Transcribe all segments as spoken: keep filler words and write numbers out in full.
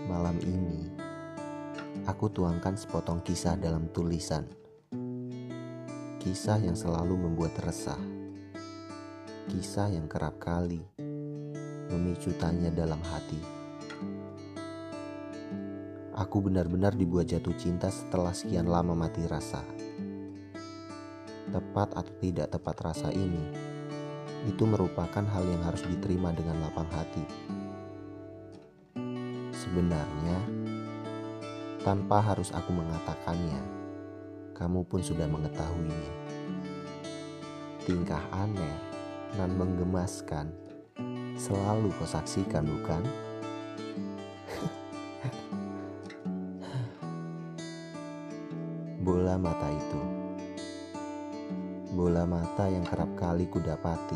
Malam ini, aku tuangkan sepotong kisah dalam tulisan. Kisah yang selalu membuat resah. Kisah yang kerap kali memicu tanya dalam hati. Aku benar-benar dibuat jatuh cinta setelah sekian lama mati rasa. Tepat atau tidak tepat rasa ini, itu merupakan hal yang harus diterima dengan lapang hati. Sebenarnya, tanpa harus aku mengatakannya, kamu pun sudah mengetahuinya. Tingkah aneh nan menggemaskan selalu kau saksikan, bukan? Bola mata itu, bola mata yang kerap kali kudapati,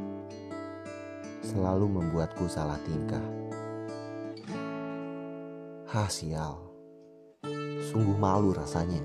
selalu membuatku salah tingkah. Hah, sial, sungguh malu rasanya.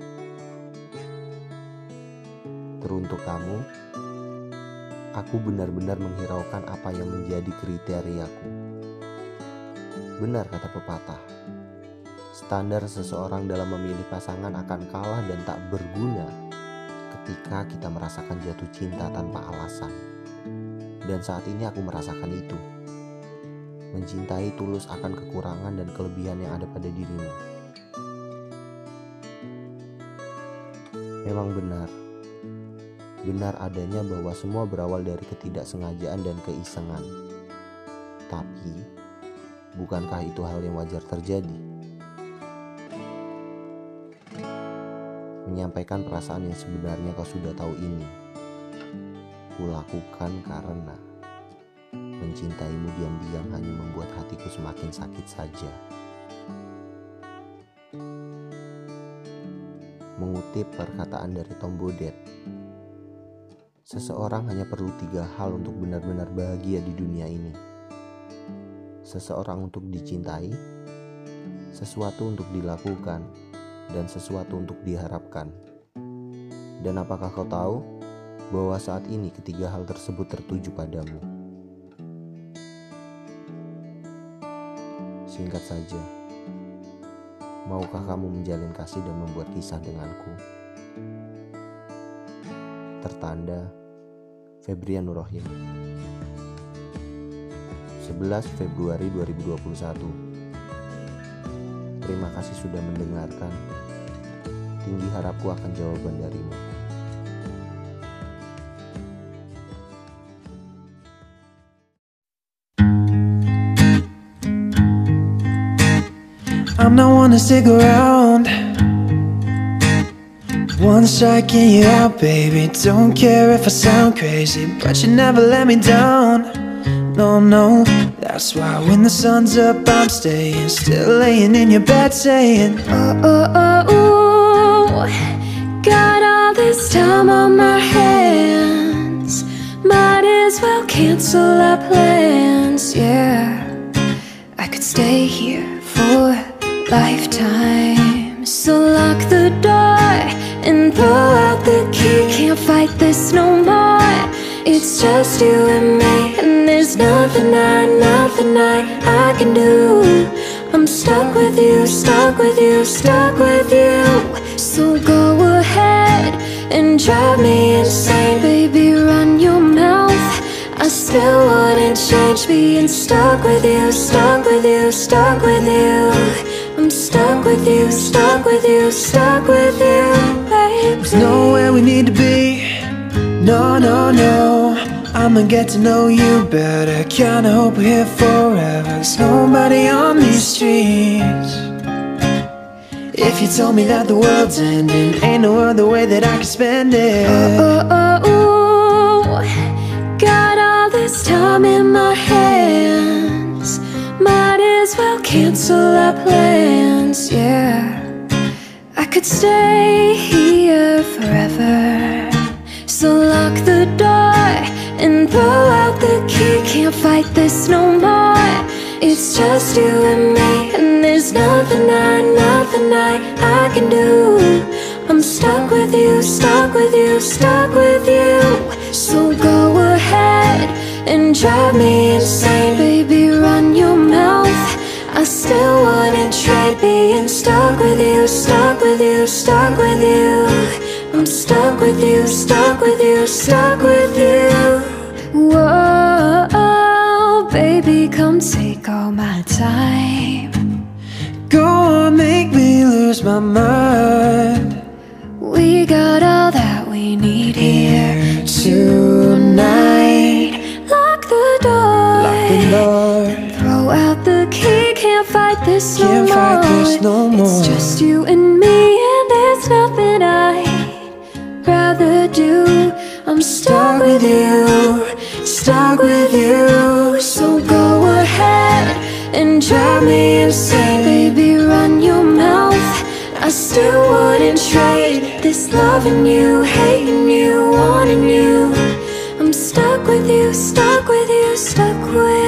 Teruntuk kamu, aku benar-benar menghiraukan apa yang menjadi kriteriaku. Benar kata pepatah, standar seseorang dalam memilih pasangan akan kalah dan tak berguna ketika kita merasakan jatuh cinta tanpa alasan. Dan saat ini aku merasakan itu. Mencintai tulus akan kekurangan dan kelebihan yang ada pada dirimu. Memang benar. Benar adanya bahwa semua berawal dari ketidaksengajaan dan keisengan. Tapi, bukankah itu hal yang wajar terjadi? Menyampaikan perasaan yang sebenarnya kau sudah tahu ini, kulakukan karena mencintaimu diam-diam hanya membuat hatiku semakin sakit saja. Mengutip perkataan dari Tom Bodett, seseorang hanya perlu tiga hal untuk benar-benar bahagia di dunia ini. Seseorang untuk dicintai, sesuatu untuk dilakukan, dan sesuatu untuk diharapkan. Dan apakah kau tahu bahwa saat ini ketiga hal tersebut tertuju padamu? Singkat saja, maukah kamu menjalin kasih dan membuat kisah denganku? Tertanda Febrian Nurrohim, sebelas Februari dua ribu dua puluh satu. Terima kasih sudah mendengarkan. Tinggi harapku akan jawaban darimu. I'm not one to stick around. One strike and you're out, baby. Don't care if I sound crazy, but you never let me down. No, no, that's why when the sun's up I'm staying, still laying in your bed saying, oh, oh, oh, oh. Got all this time on my hands, might as well cancel our plans. Yeah, I could stay here for lifetime. So lock the door and throw out the key. Can't fight this no more. It's just you and me, and there's nothing I, nothing I, I can do. I'm stuck with you, stuck with you, stuck with you. So go ahead and drive me insane, baby, run your mouth. I still wouldn't change being stuck with you, stuck with you, stuck with you. I'm stuck with you, stuck with you, stuck with you, baby. There's nowhere we need to be. No, no, no, I'ma get to know you better. Kinda hope we're here forever. There's nobody on these streets. If you told me that the world's ending, ain't no other way that I can spend it. Oh, oh, oh, oh. Got all this time in my hands, might as well cancel our plans. Yeah, I could stay here forever. So lock the door and throw out the key. Can't fight this no more. It's just you and me, and there's nothing I, nothing I, I can do. I'm stuck with you, stuck with you, stuck with you. So go ahead and drive me insane, baby, run your mouth. I still want stuck with you, stuck with you, stuck with you. I'm stuck with you, stuck with you, stuck with you. Whoa, baby, come take all my time. Go on, make me lose my mind. We got all that we need here tonight. Lock the door, Lock the door. throw out the key. Can't fight this no Can't more. fight this no more. It's just you and me, and there's nothing I'd rather do. I'm stuck with you, stuck with you. So go ahead and drive me insane. Baby, run your mouth. I still wouldn't trade this loving you, hating you, wanting you. I'm stuck with you, stuck with you, stuck with